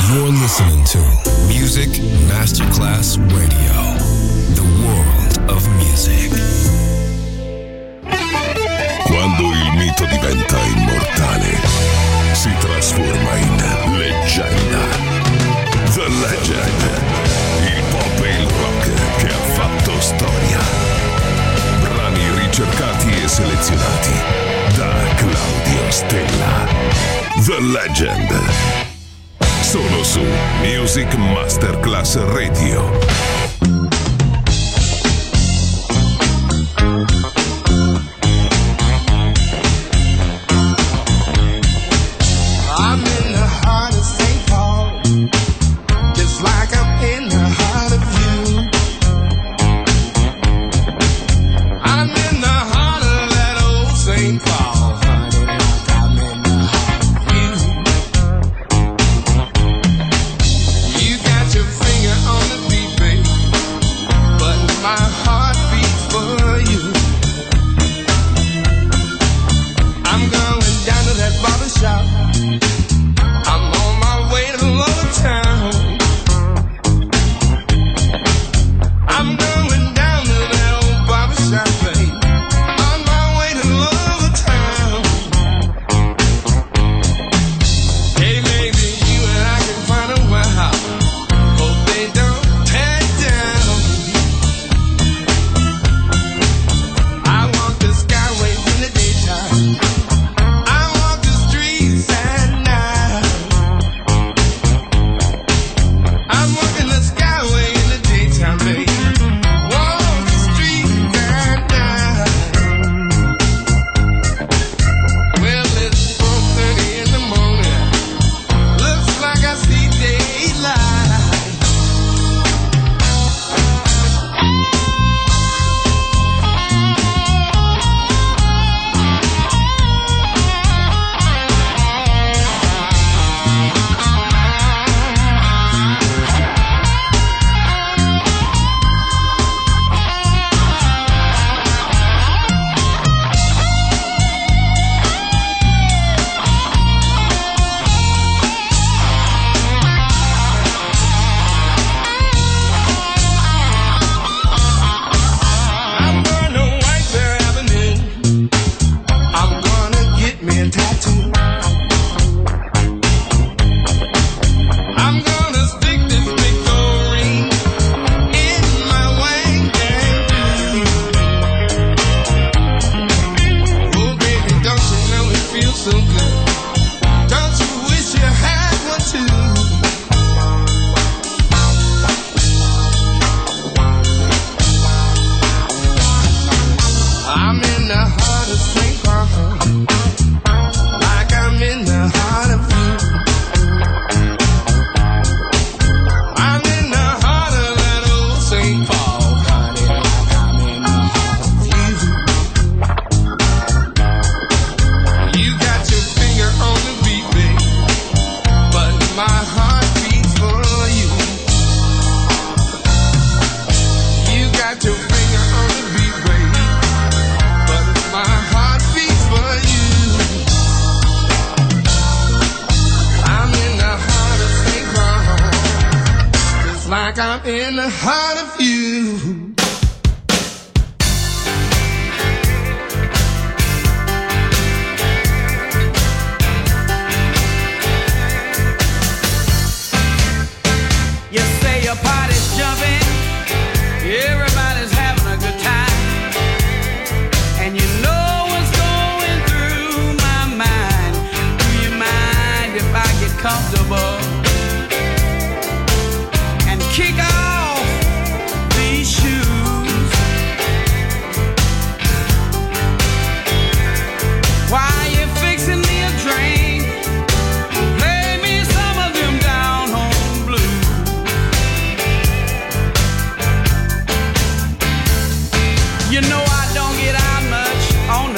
You're listening to Music Masterclass Radio, the world of music. Quando il mito diventa immortale, si trasforma in leggenda. The Legend, il pop e il rock che ha fatto storia. Brani ricercati e selezionati da Claudio Stella. The Legend. Solo su Music Masterclass Radio.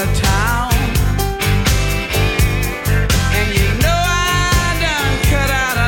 Cut out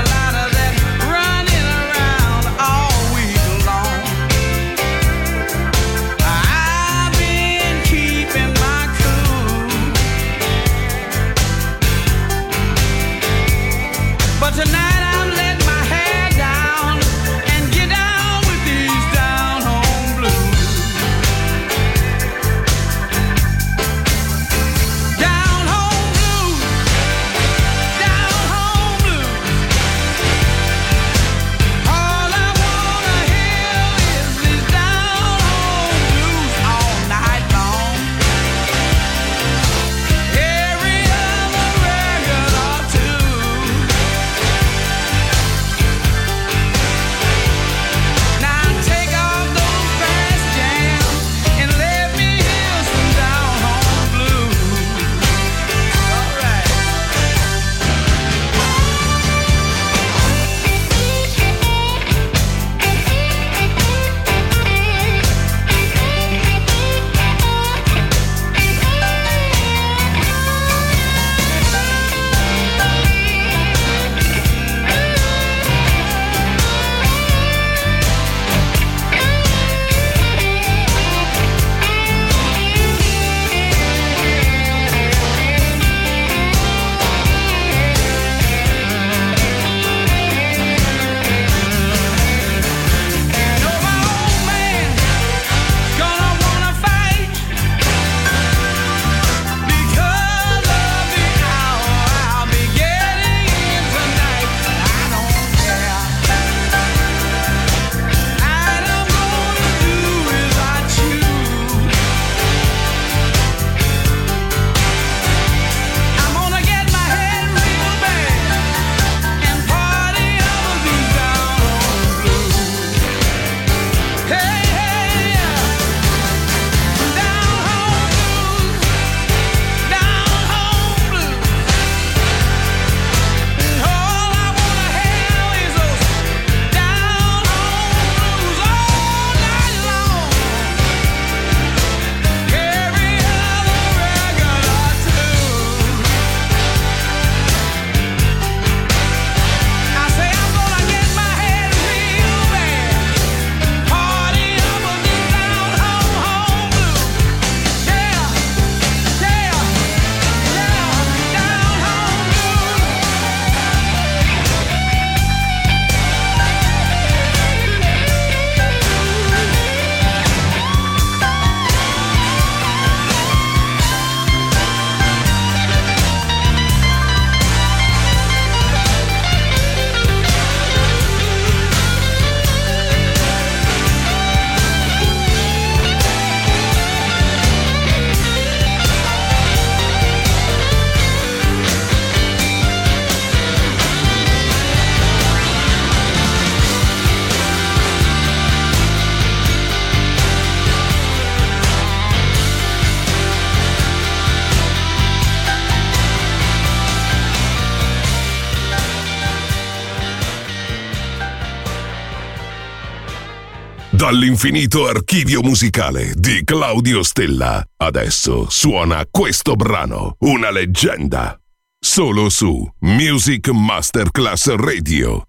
Dall'infinito archivio musicale di Claudio Stella, adesso suona questo brano, una leggenda, solo su Music Masterclass Radio.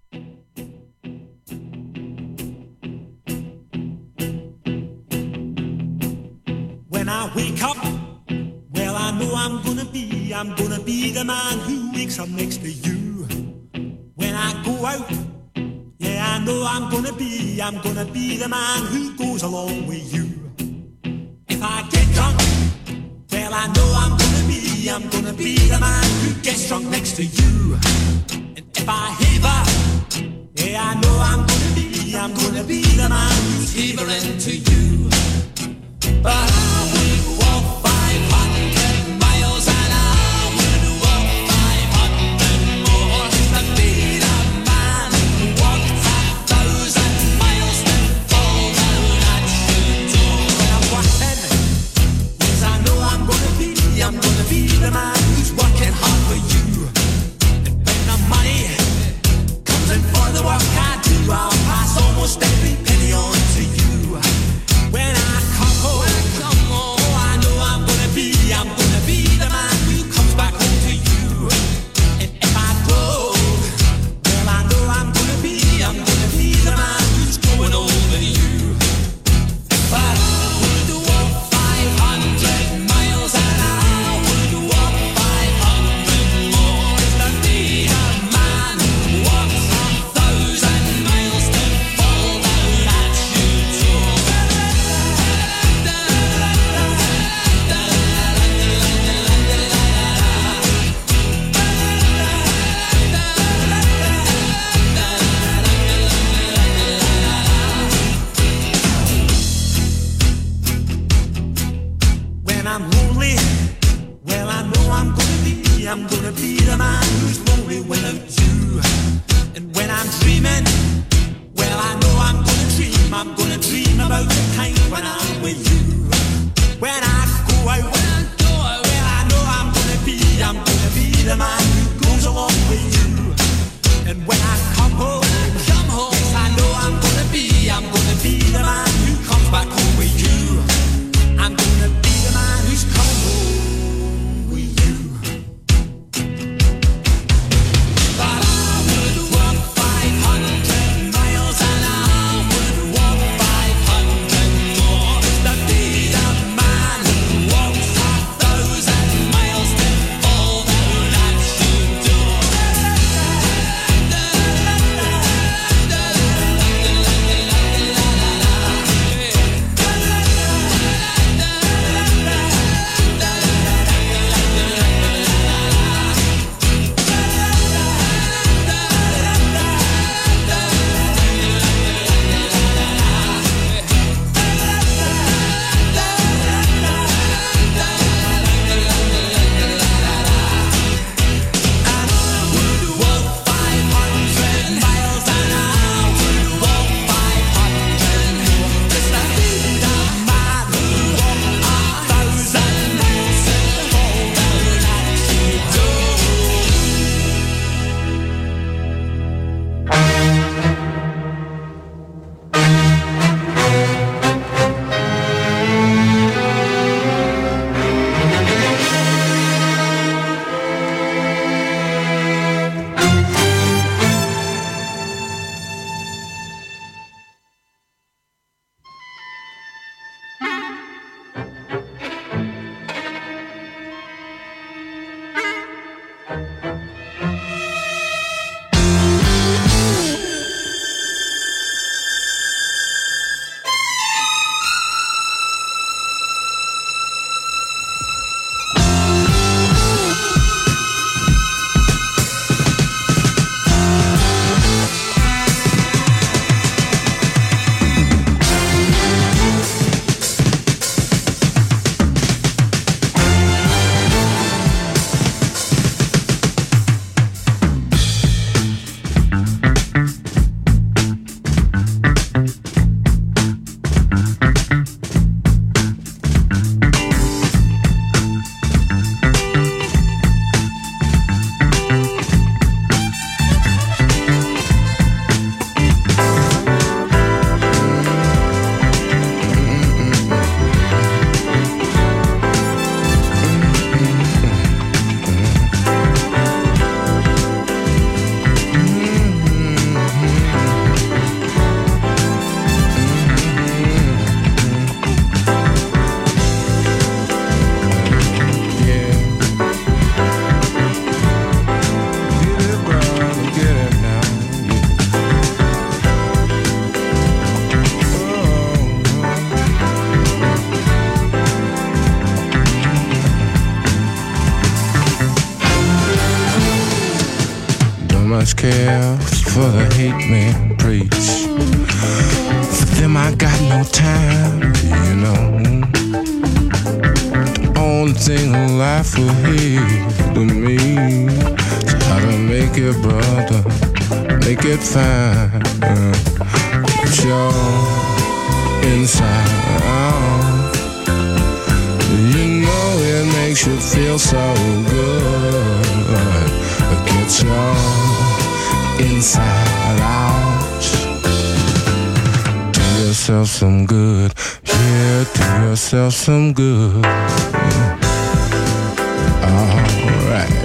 When I wake up, well I know I'm gonna be the man who wakes up next to you. When I go out, yeah, I know I'm gonna be the man who goes along with you. If I get drunk, well, I know I'm gonna be the man who gets drunk next to you. And if I heaver, yeah, I know I'm gonna be the man who's heavering to you. But I would walk 500 miles and I would walk 500 more to be the man who walked 1,000 miles to fall down at your door. When I'm walking, yes, I know I'm gonna be the man who's working hard for you. And when the money comes in for the work I do, I'll pass almost every penny on to you. When I come home, much care for the hate men preach. For them I got no time, you know. The only thing alive for here to me is how to make it, brother, make it fine. Get your inside out. You know it makes you feel so good. Get your inside out. Do yourself some good. Yeah, do yourself some good. Alright.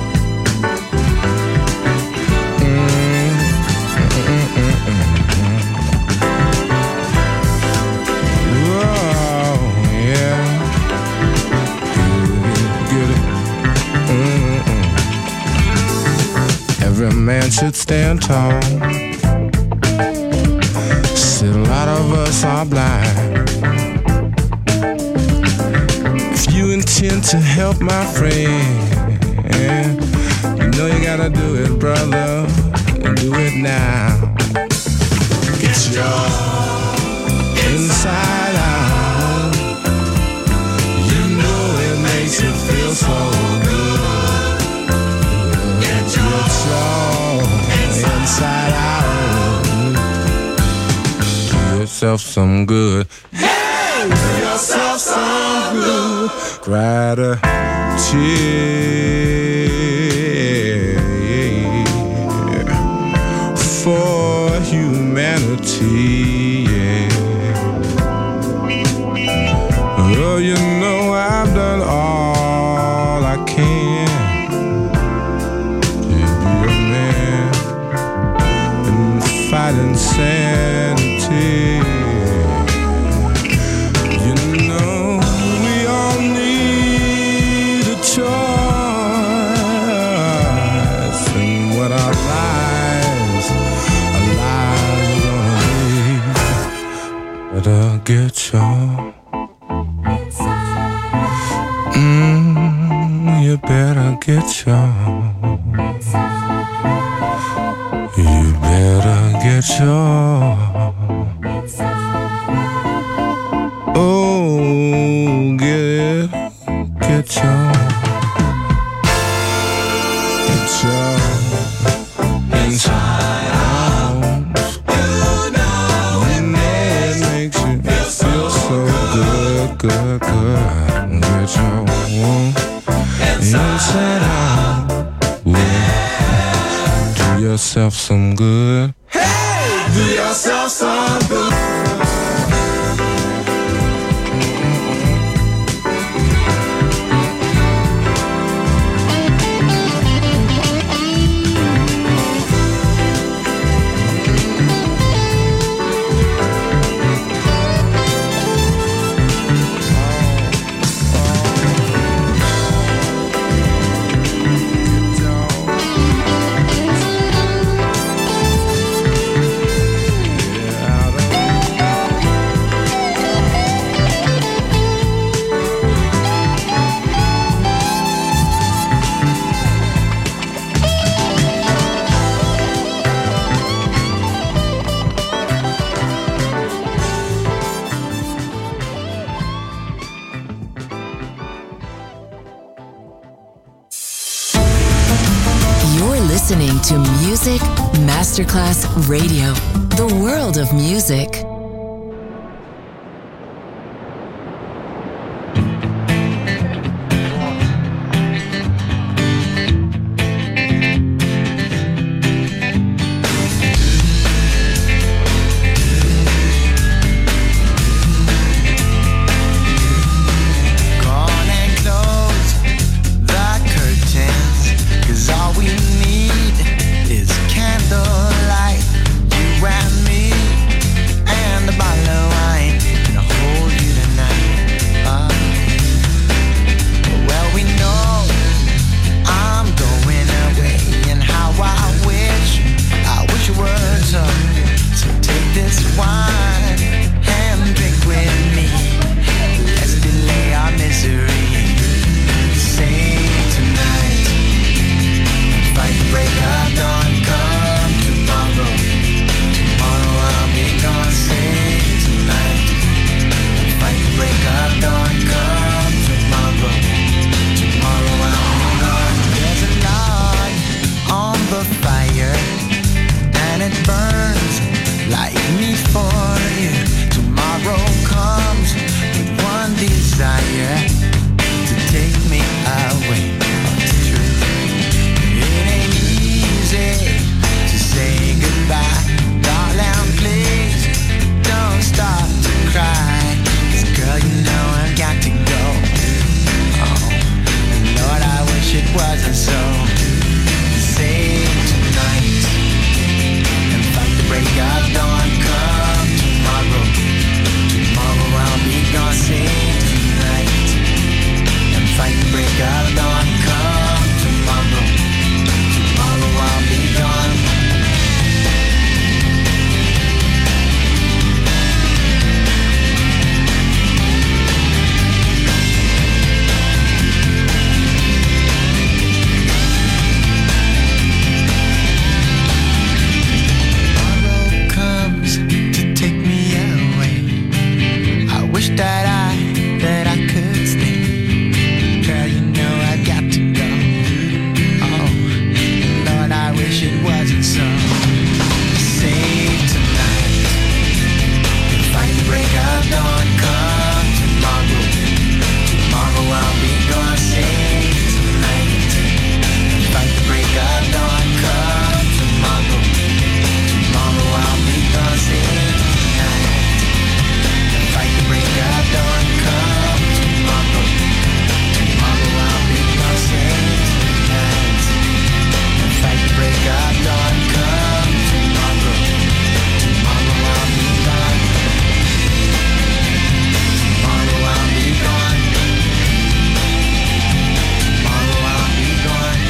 Every man should stand tall. Said a lot of us are blind. If you intend to help my friend, you know you gotta do it, brother, and do it now. Get your inside out. You know it makes you feel so good. Inside out. Do yourself some good. Hey, do yourself some good. Cry a tear for humanity. Yeah. Oh, you know I've done all I can. Fight insanity. You know we all need a choice in what our lives are gonna be. Better get your you better get your. You better get your. Oh, get your. Get your inside out. You know it makes you feel so good, good, good. Get your inside out. Do yourself some good. Hey, do yourself some good. Listening to Music Masterclass Radio, the world of music. Candlelight, you and me, and and it burns like me for you. Tomorrow comes with one desire, to take me away from the truth. It ain't easy to say goodbye, darling, please don't stop to cry, 'cause girl, you know I've got to go. Oh, and Lord, I wish it wasn't so. Save tonight and fight the break of dawn. Come tomorrow, tomorrow I'll be gone. Save tonight and fight the break of dawn. Come tomorrow, tomorrow I'll be gone. That I could stay. Girl, you know I got to go. Oh, Lord, I wish it wasn't so. Save tonight, fight the break of dawn. Come tomorrow, tomorrow I'll be gone. Save tonight, fight the break of dawn. Come tomorrow, tomorrow I'll be gone. Save fight the break of dawn. Come tomorrow, tomorrow I'll be gone. Save tonight and fight the break of dawn. Come tomorrow, tomorrow I'll be gone. Tomorrow I'll be gone. Tomorrow I'll be gone.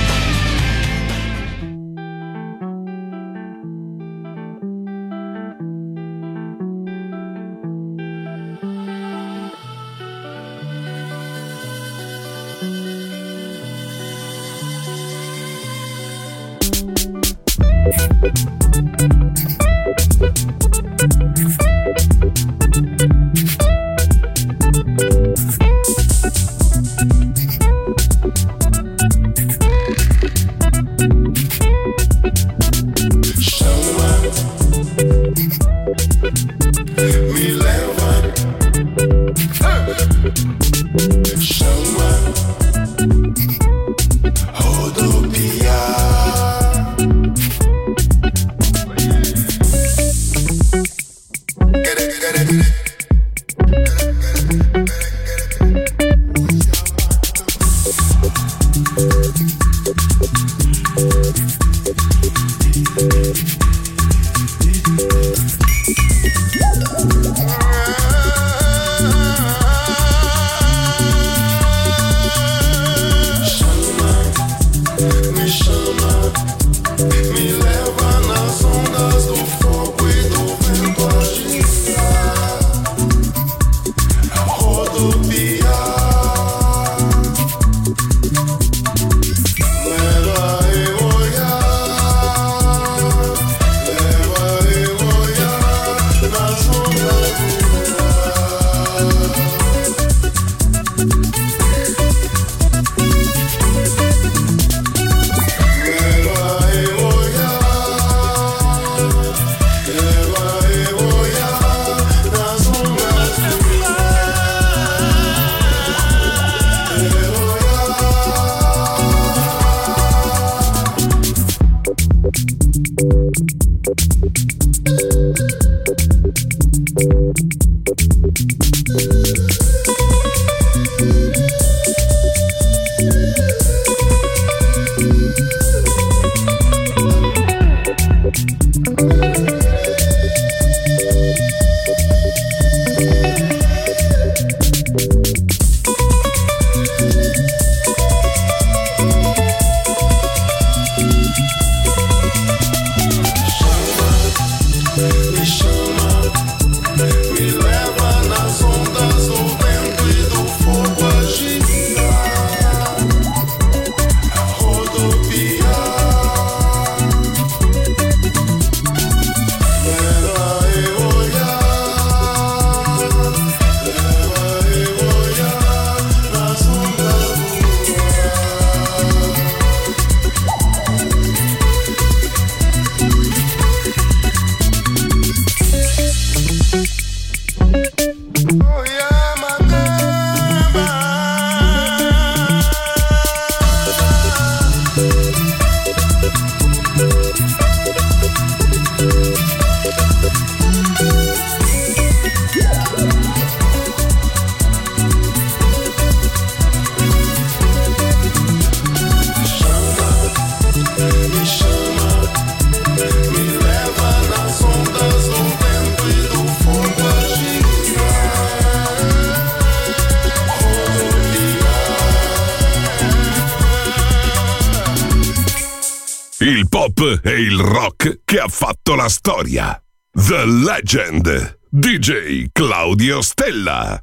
pop e il rock che ha fatto la storia. The Legend, DJ Claudio Stella.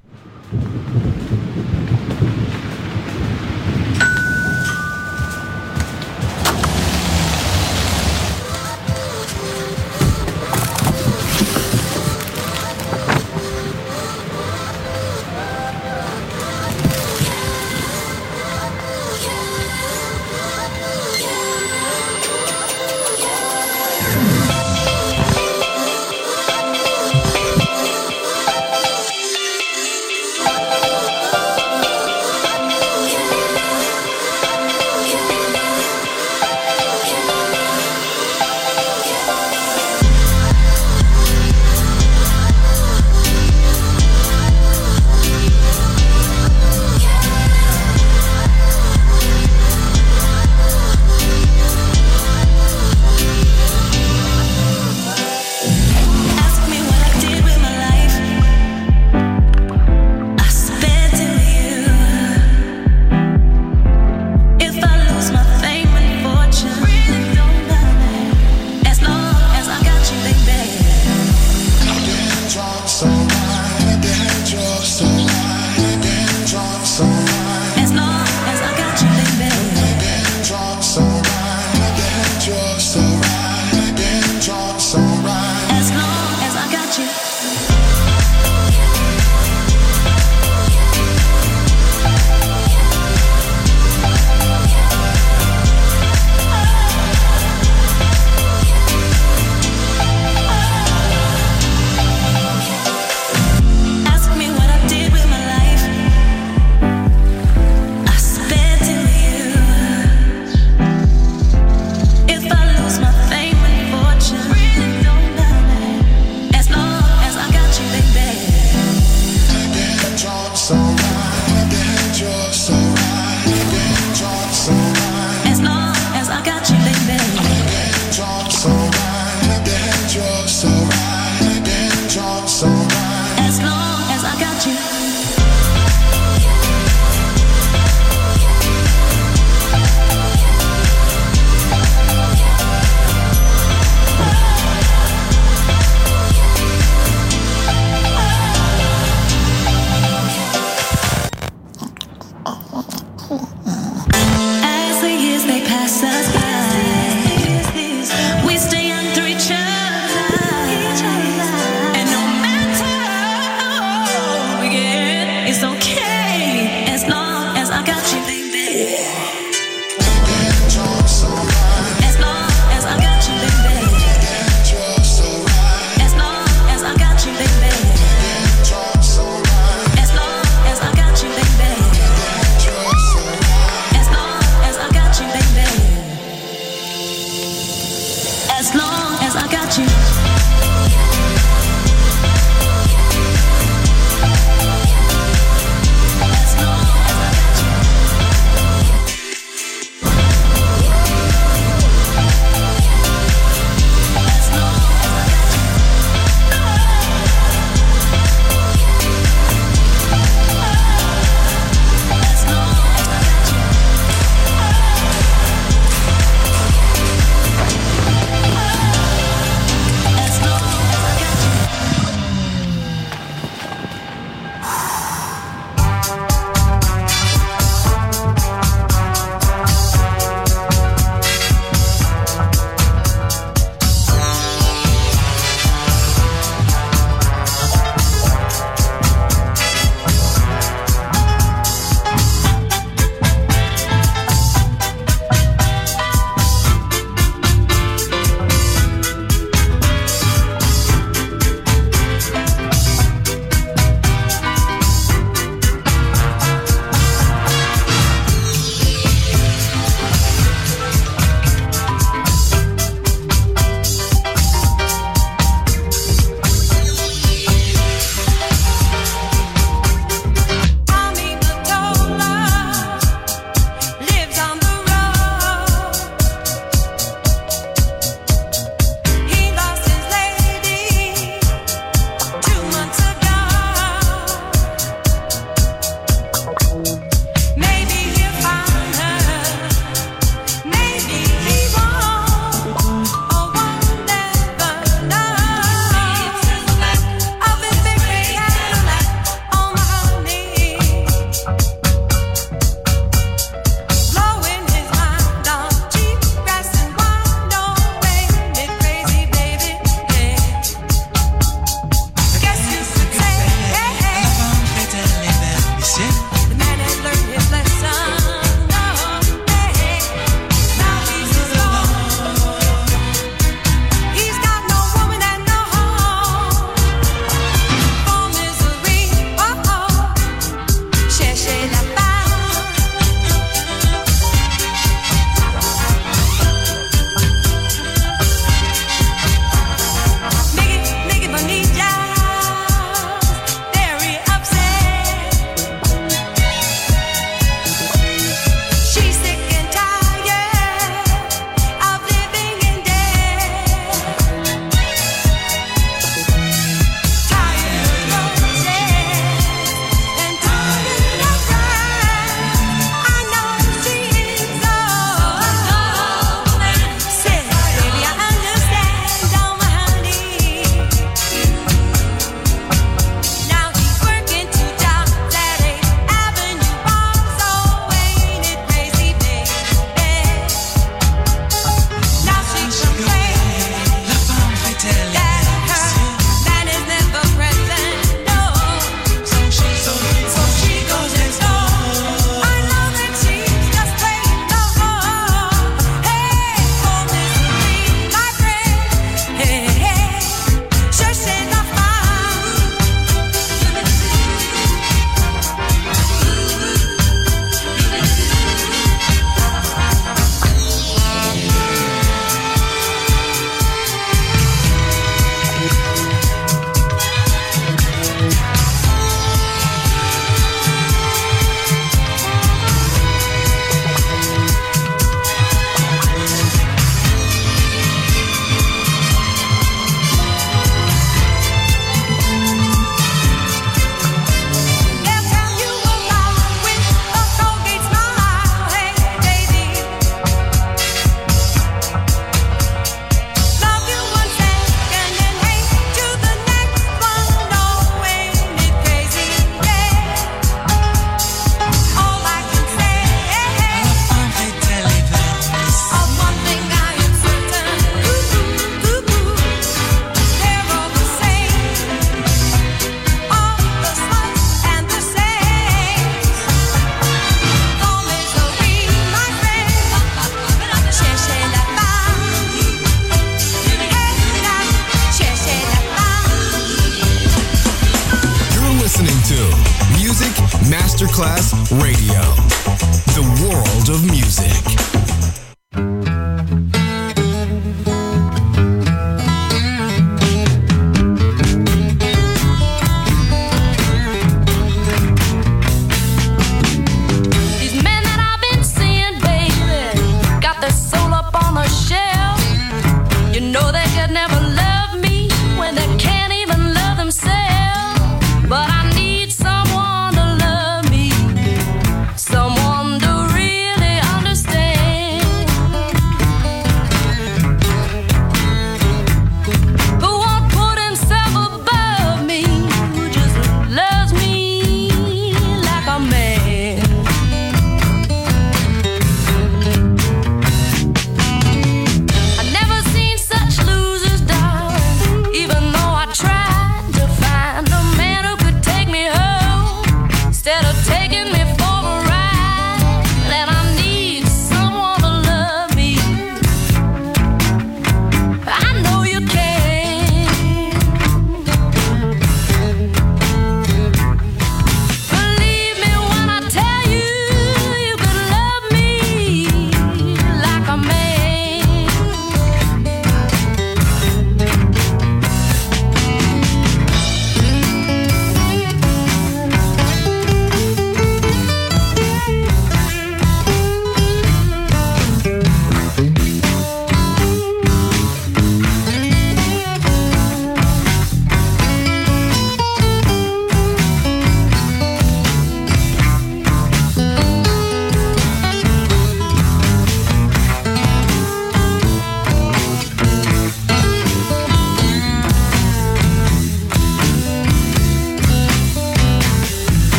Masterclass Radio, the world of music. But I need someone to love me, someone to really understand, who won't put himself above me, who just loves me like a man. I never seen such losers die.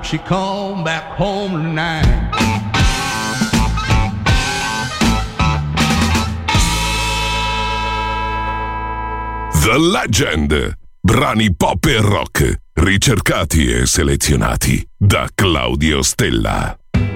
she come back home tonight. The Legend. Brani pop e rock, ricercati e selezionati da Claudio Stella.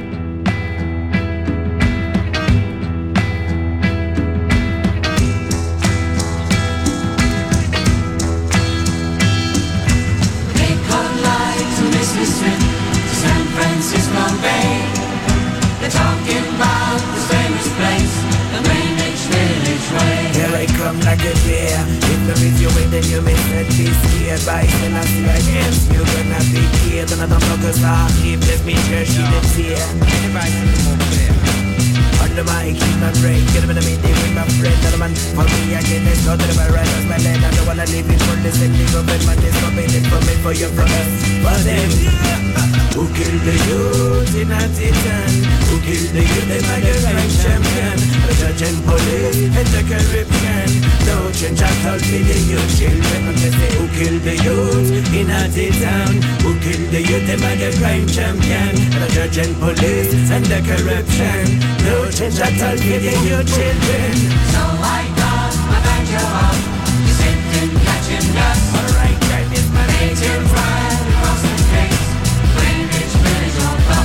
San Francisco Bay. They're talking about this famous place, the Greenwich Village Way. Here I come like a deer. If the is your way, then you may not be scared. By when I see against you, gonna be here. Then I don't know cause I keep this me church in the tear. Anybody see more clear? Under my keep my brain, get a bit of me day with my friend. Another man, for me again, let's go to the bar, as my land. I don't wanna leave it for this and leave up in my this, not it for me, for your brother. For them, who killed the youth in Atitan? Who killed the youth, they might have been champion. The judge and police and the Caribbean. No change, I told me the youth children. I'm gonna say, who killed the youth in Atitan? Who killed the youth, they might have crime champion. The judge and police and the corruption. No change, I told me the youth children. So I got my banjo up, you sitting catching dust. Alright, crime is my nature. Right across the face, Greenwich Village on bus.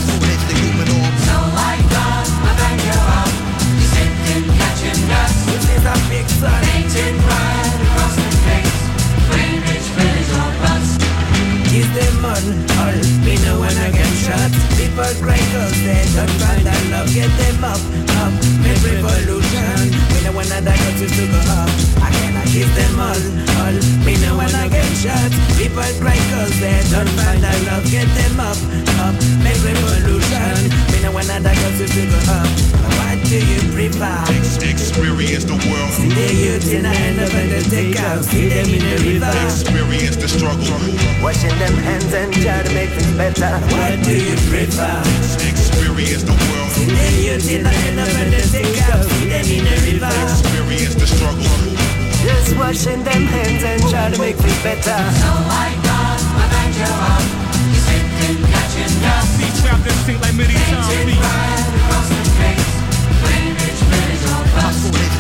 So I got my banjo up, you sitting catching dust. This is a big son. Painted right across the face, Greenwich Village on bus. Is them on all, me know when I get shot. People cry cause they don't find that love. Get them up, make revolution. Me know when I die cause to go up. I cannot kiss them all, me know when I get shot. People cry cause they don't find that love. Get them up, make revolution. Me know when I die cause to go up. What do you prefer? Experience the world. See the youth in the end of the take out. See them in the river. Experience the struggle. Washing them hands and try to make things better. What do you prefer? Experience the world. See the youth in the end of the take out. See them in the river. Experience the struggle. Just washing them hands and try to make things better. So I got my banjo up, you sitting catching dust. See trapped and sing like many times. Painted right across the face, Greenwich Village on bus.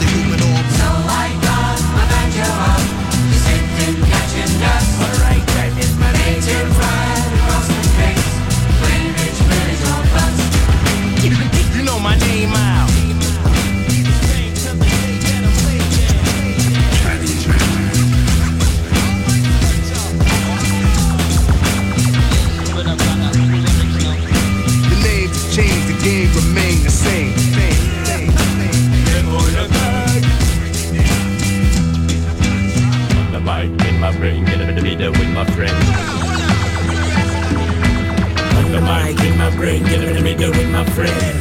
So I got my banjo up, you sitting catching dust. Alright, crime is my Painted nature. right across the face, Greenwich Village on bus. You know my name out. The names change, the game remain the same. The mic in my brain, get a bit of leader with my friend. The mic in my brain, get a bit of leader with my friend.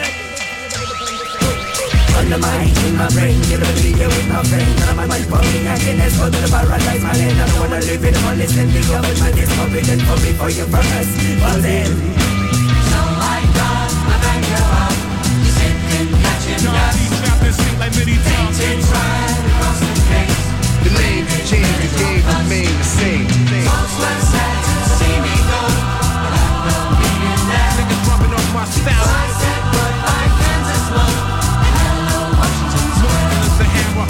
On the mic in my brain, get a bit of leader with my friend. And I'm like falling again, let's go to the paradise, my land. I don't wanna live in the money, send the government is forbidden for me, for you, for us, for them. So I got my banjo up, you sitting catching dust. See trapped and sing like many times. Painted right across the face. The names change, the game remain the same. Folks were sad to see me go, but I don't mean that. Niggas rubbing off my So style. I said goodbye, Kansas love, and hello, Washington Square. It's the hammer.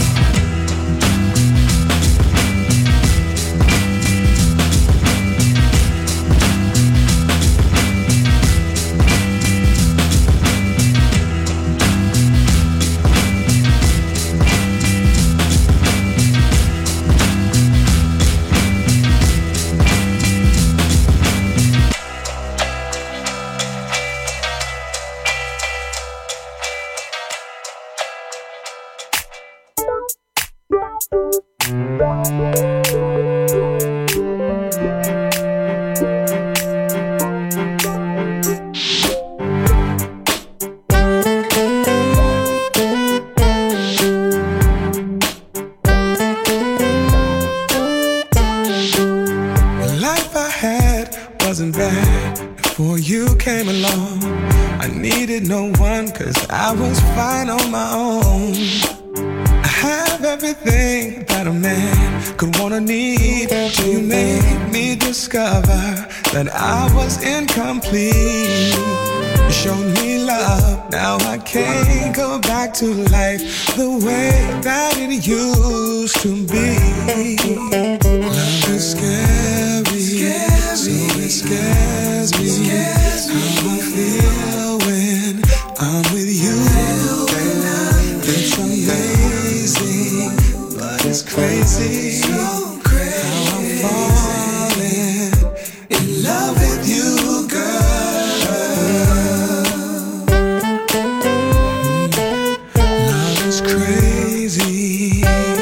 The life I had wasn't bad before you came along. I needed no one cause I was fine on my own. I have everything that a man could wanna need till you made me discover that I was incomplete. You showed me love, now I can't go back to life the way that it used to be. Love is scary, so it scares me. How I feel when I'm with you. It's amazing, but it's crazy. So crazy. How I'm falling in love with you, girl. Love is crazy.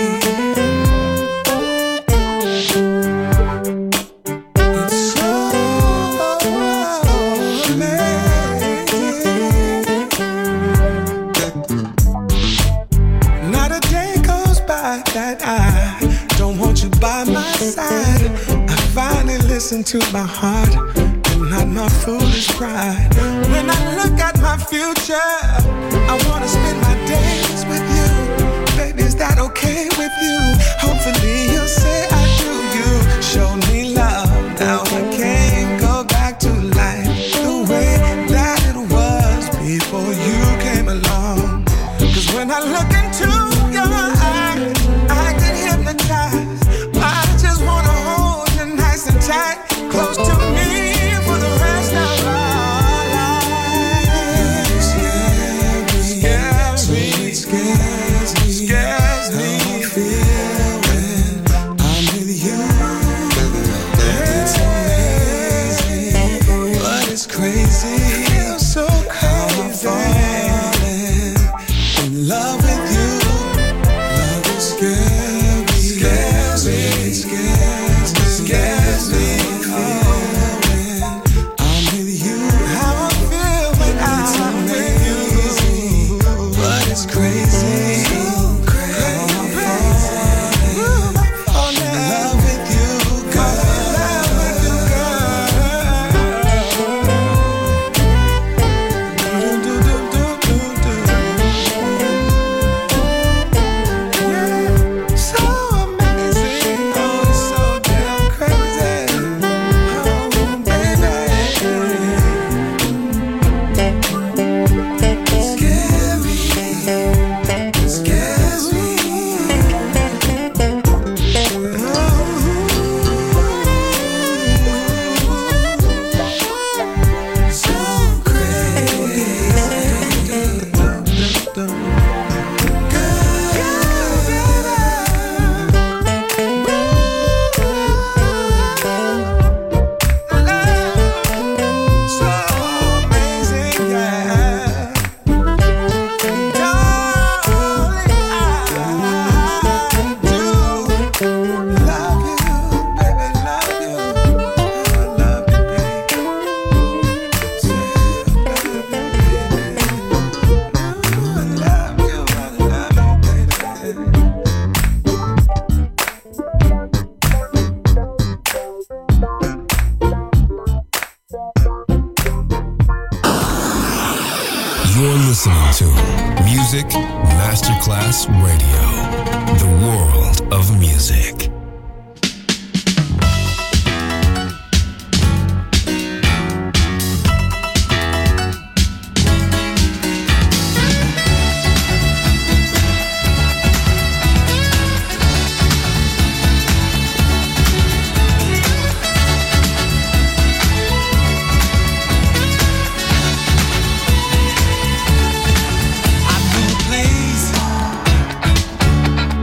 It's so amazing. Not a day goes by that I don't want you by my side. I finally listen to my heart and not my foolish pride. When I look at my future, I wanna spend my days with you. Baby, is that okay with you? Hopefully you'll say I do. You show me love, now I can't go back to life the way that it was before you came along. 'Cause when I look into your eyes, I get hypnotized. I just wanna hold you nice and tight, close to me for the rest of our lives. Scares me, scares me, scares me. How I feel when I'm with you. It's amazing, but it's crazy. So how I'm falling in love with you. Love is scary, scares me, scares me, scares me. When I'm with you, how I feel when I'm with you. But it's crazy. How I'm falling in love with you, girl. So amazing, oh, it's so damn crazy. Oh, baby. Scary, scares me. So amazing, yeah. Darling, I do love you, baby, love you. I love you, baby. I love you, baby. You're listening to Music Masterclass Radio, the world of music. I knew a place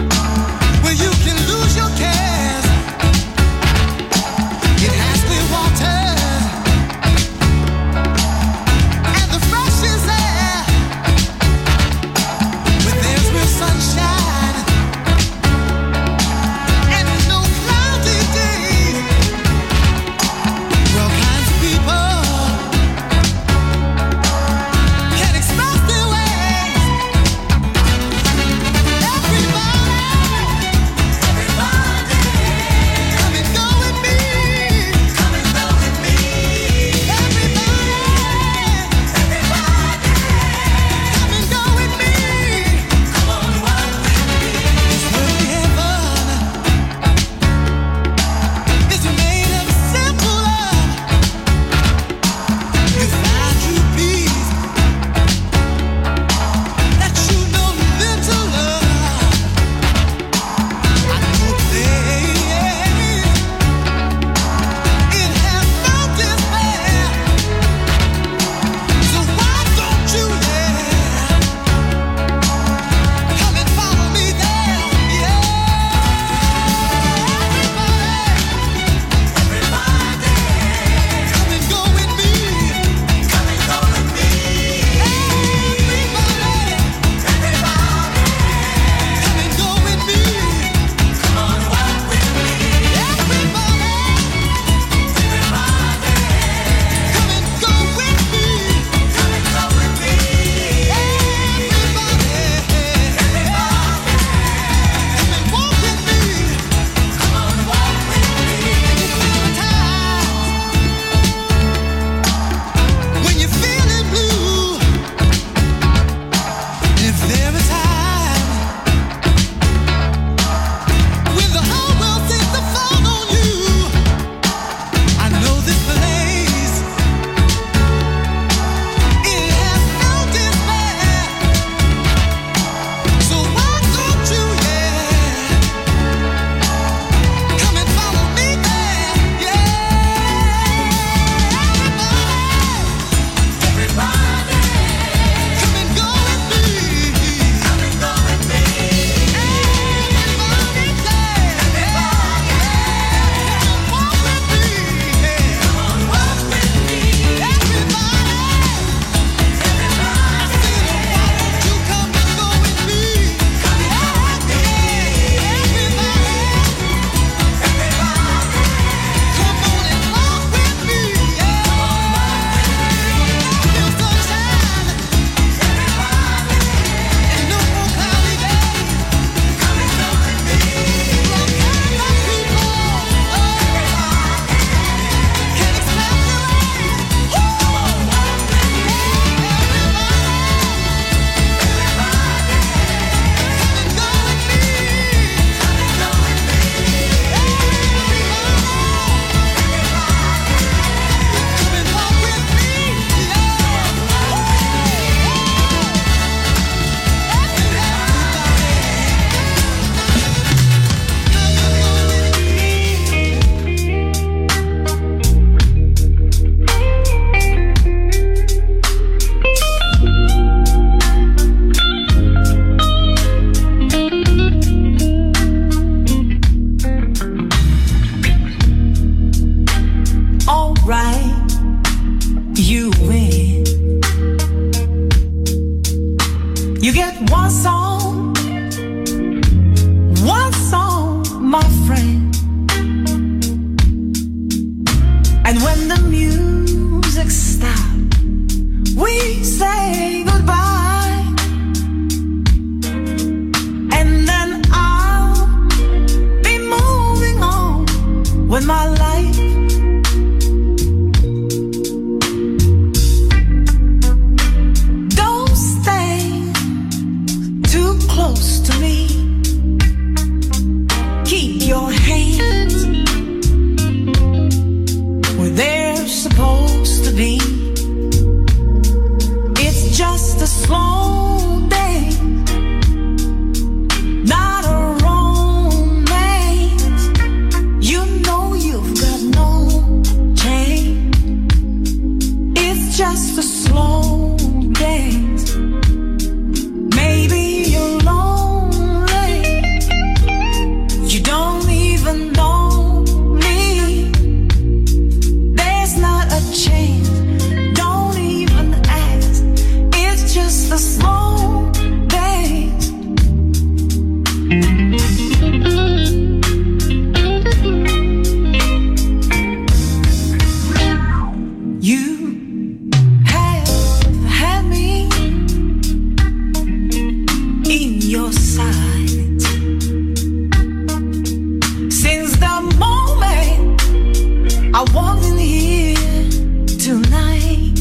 I walked in here tonight.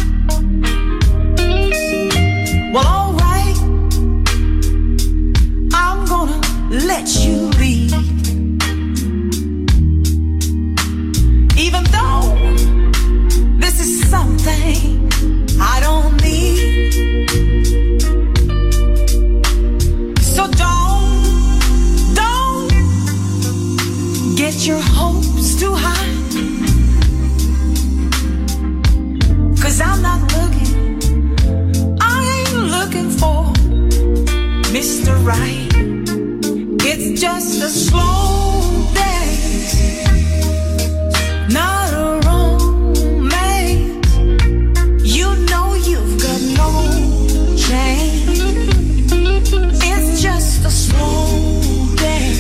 Well, alright, I'm gonna let you leave. Even though this is something I don't need. So don't get your hopes too high. 'Cause I'm not looking, I ain't looking for Mr. Right. It's just a slow day, not a romance. You know you've got no chance. It's just a slow day.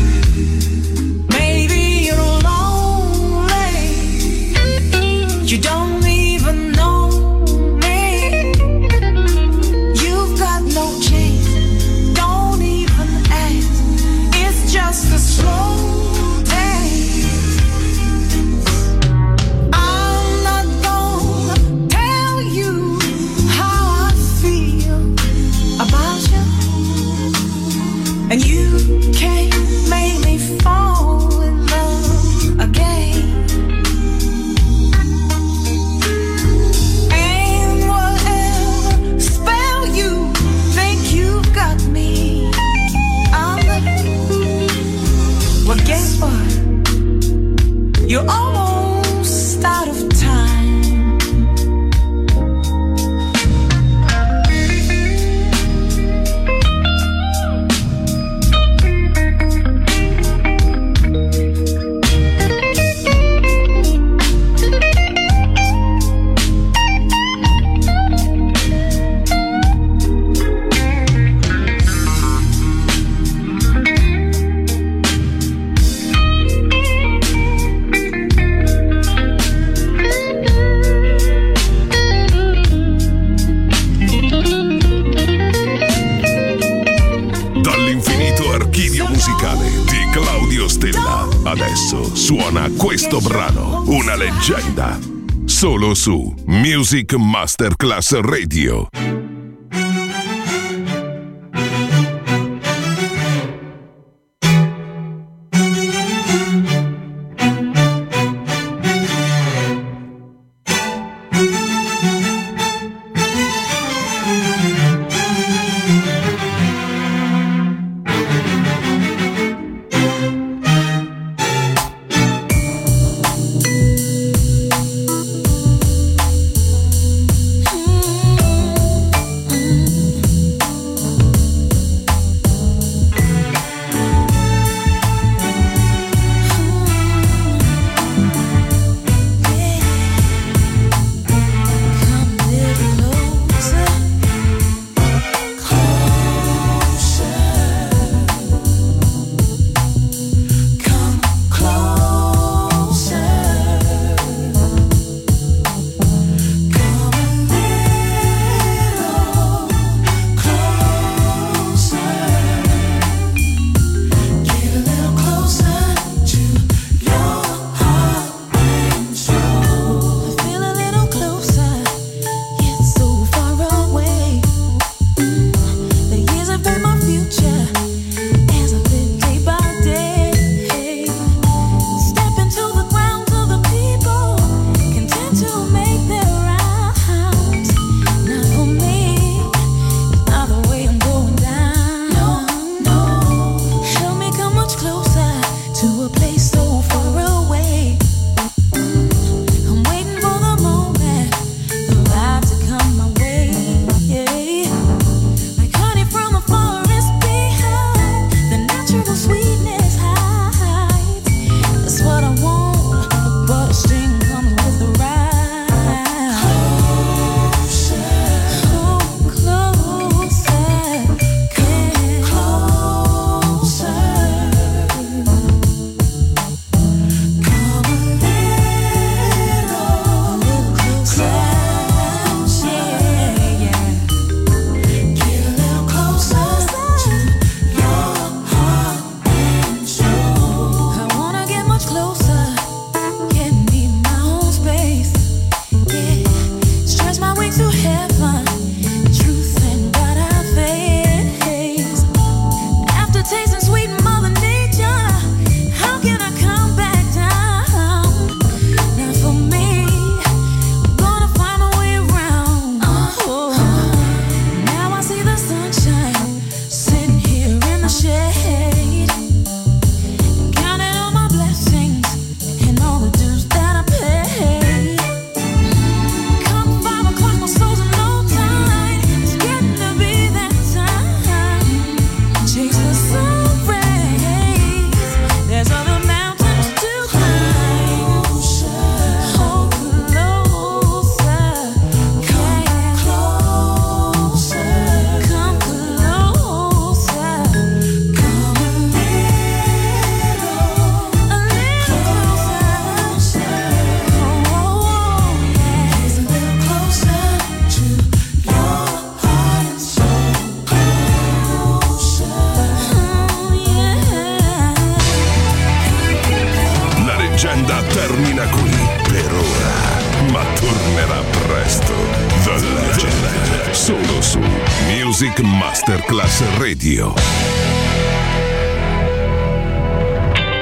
Maybe you're lonely, you don't even know me. You've got no chance, don't even ask. It's just a slow day. I'm not gonna tell you how I feel about you, and you can't make me fall in love again. And whatever spell you think you've got me under, well, guess what? You're almost out of time. Dall'infinito archivio musicale di Claudio Stella, adesso suona questo brano, una leggenda, solo su Music Masterclass Radio. Tiesto, The Legend, solo su Music Masterclass Radio.